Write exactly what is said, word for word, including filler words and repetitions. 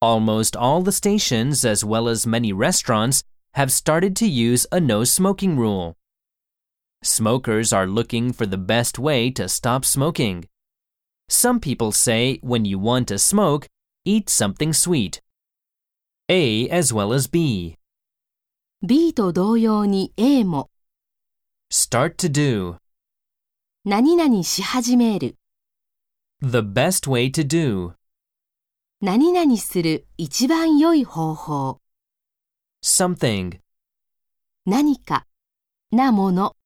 Almost all the stations, as well as many restaurants, have started to use a no smoking rule. Smokers are looking for the best way to stop smoking. Some people say when you want to smoke, eat something sweet. A as well as B. B と同様に A も Start to do. 何々し始める The best way to do. 何々する一番良い方法 Something. 何かなもの